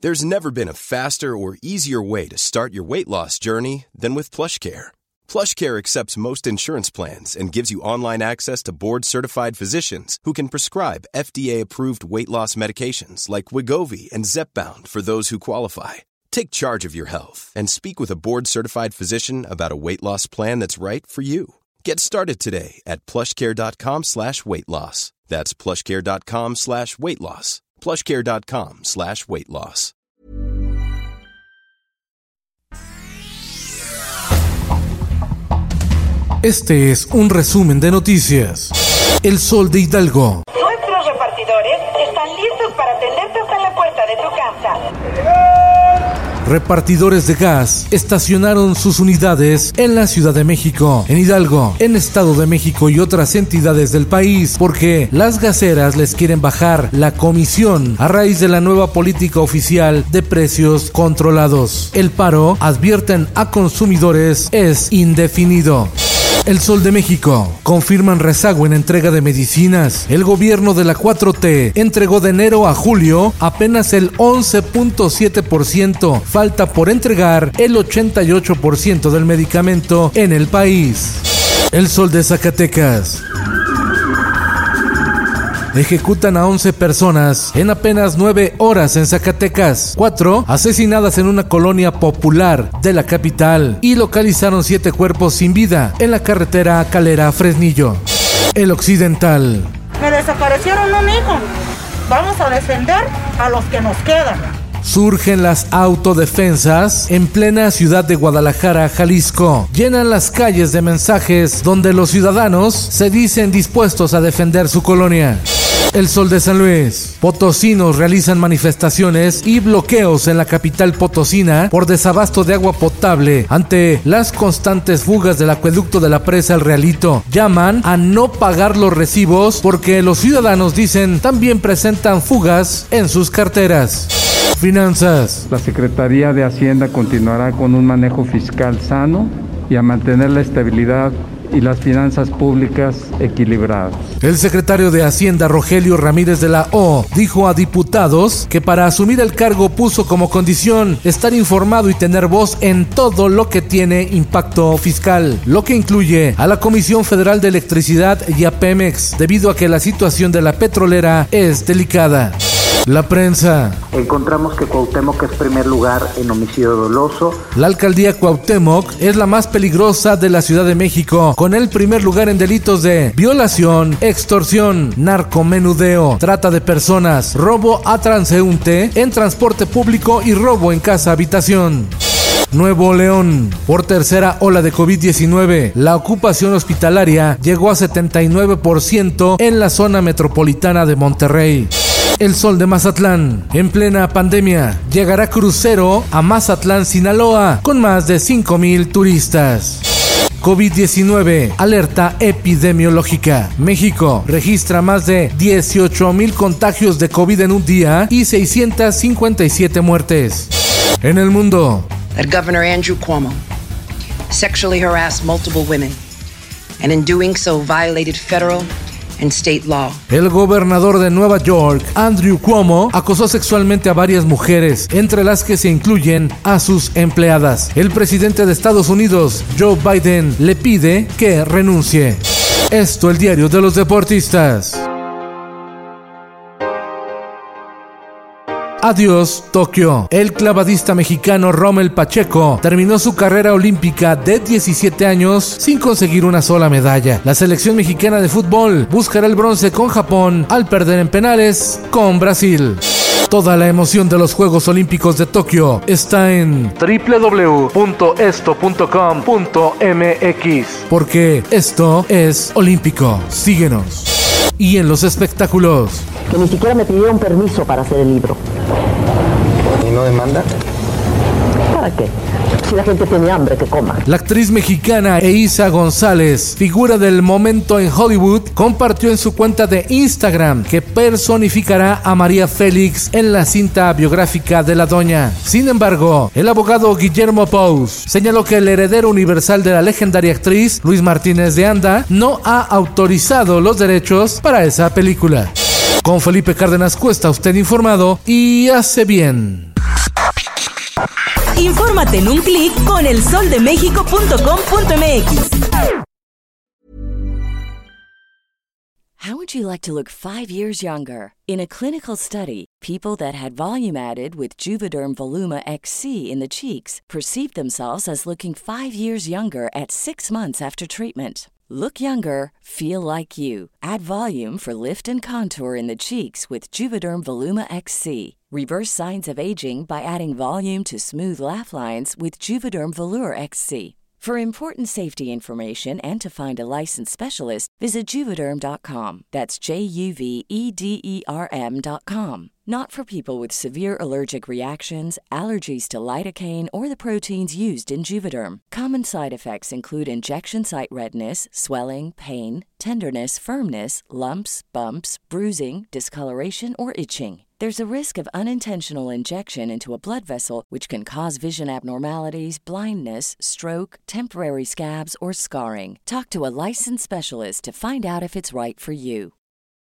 There's never been a faster or easier way to start your weight loss journey than with PlushCare. PlushCare accepts most insurance plans and gives you online access to board-certified physicians who can prescribe FDA-approved weight loss medications like Wegovy and Zepbound for those who qualify. Take charge of your health and speak with a board-certified physician about a weight loss plan that's right for you. Get started today at plushcare.com/weight loss. That's plushcare.com/weight loss. plushcare.com/weight loss. Este es un resumen de noticias. El Sol de Hidalgo. Nuestros repartidores están listos para atenderte hasta la puerta de tu casa. Repartidores de gas estacionaron sus unidades en la Ciudad de México, en Hidalgo, en Estado de México y otras entidades del país, porque las gaseras les quieren bajar la comisión a raíz de la nueva política oficial de precios controlados. El paro, advierten a consumidores, es indefinido. El Sol de México. Confirman rezago en entrega de medicinas. El gobierno de la 4T entregó de enero a julio apenas el 11.7%. Falta por entregar el 88% del medicamento en el país. El Sol de Zacatecas. Ejecutan a 11 personas en apenas 9 horas en Zacatecas. 4 asesinadas en una colonia popular de la capital. Y localizaron 7 cuerpos sin vida en la carretera Calera-Fresnillo. El Occidental. Me desaparecieron un hijo. Vamos a defender a los que nos quedan. Surgen las autodefensas en plena ciudad de Guadalajara, Jalisco. Llenan las calles de mensajes donde los ciudadanos se dicen dispuestos a defender su colonia. El Sol de San Luis. Potosinos realizan manifestaciones y bloqueos en la capital potosina por desabasto de agua potable ante las constantes fugas del acueducto de la presa El Realito. Llaman a no pagar los recibos porque los ciudadanos, dicen, también presentan fugas en sus carteras. Finanzas. La Secretaría de Hacienda continuará con un manejo fiscal sano y a mantener la estabilidad y las finanzas públicas equilibradas. El secretario de Hacienda, Rogelio Ramírez de la O, dijo a diputados que para asumir el cargo puso como condición estar informado y tener voz en todo lo que tiene impacto fiscal, lo que incluye a la Comisión Federal de Electricidad y a Pemex, debido a que la situación de la petrolera es delicada. La prensa. Encontramos que Cuauhtémoc es primer lugar en homicidio doloso. La alcaldía Cuauhtémoc es la más peligrosa de la Ciudad de México, con el primer lugar en delitos de violación, extorsión, narcomenudeo, trata de personas, robo a transeúnte en transporte público y robo en casa habitación. Nuevo León. Por tercera ola de COVID-19, la ocupación hospitalaria llegó a 79% en la zona metropolitana de Monterrey. El Sol de Mazatlán. En plena pandemia, llegará crucero a Mazatlán, Sinaloa, con más de 5,000 turistas. COVID-19, alerta epidemiológica. México registra más de 18,000 contagios de COVID en un día y 657 muertes. En el mundo. That Governor Andrew Cuomo sexually harassed multiple women and in doing so violated federal and state law. El gobernador de Nueva York, Andrew Cuomo, acosó sexualmente a varias mujeres, entre las que se incluyen a sus empleadas. El presidente de Estados Unidos, Joe Biden, le pide que renuncie. Esto, el diario de los deportistas. Adiós, Tokio. El clavadista mexicano Rommel Pacheco terminó su carrera olímpica de 17 años sin conseguir una sola medalla. La selección mexicana de fútbol buscará el bronce con Japón al perder en penales con Brasil. Toda la emoción de los Juegos Olímpicos de Tokio está en www.esto.com.mx, porque esto es olímpico. Síguenos. Y en los espectáculos. Que ni siquiera me pidieron permiso para hacer el libro. ¿Y no demanda? ¿Para qué? Si la gente tiene hambre, que coma. La actriz mexicana Eiza González, figura del momento en Hollywood, compartió en su cuenta de Instagram que personificará a María Félix en la cinta biográfica de la doña. Sin embargo, el abogado Guillermo Pous señaló que el heredero universal de la legendaria actriz, Luis Martínez de Anda, no ha autorizado los derechos para esa película. Con Felipe Cárdenas Cuesta, usted informado y hace bien. Infórmate en un clic con elsoldemexico.com.mx. How would you like to look 5 years younger? In a clinical study, people that had volume added with Juvederm Voluma XC in the cheeks perceived themselves as looking 5 years younger at 6 months after treatment. Look younger, feel like you. Add volume for lift and contour in the cheeks with Juvederm Voluma XC. Reverse signs of aging by adding volume to smooth laugh lines with Juvederm Volure XC. For important safety information and to find a licensed specialist, visit Juvederm.com. That's JUVEDERM.com. Not for people with severe allergic reactions, allergies to lidocaine, or the proteins used in Juvederm. Common side effects include injection site redness, swelling, pain, tenderness, firmness, lumps, bumps, bruising, discoloration, or itching. There's a risk of unintentional injection into a blood vessel, which can cause vision abnormalities, blindness, stroke, temporary scabs, or scarring. Talk to a licensed specialist to find out if it's right for you.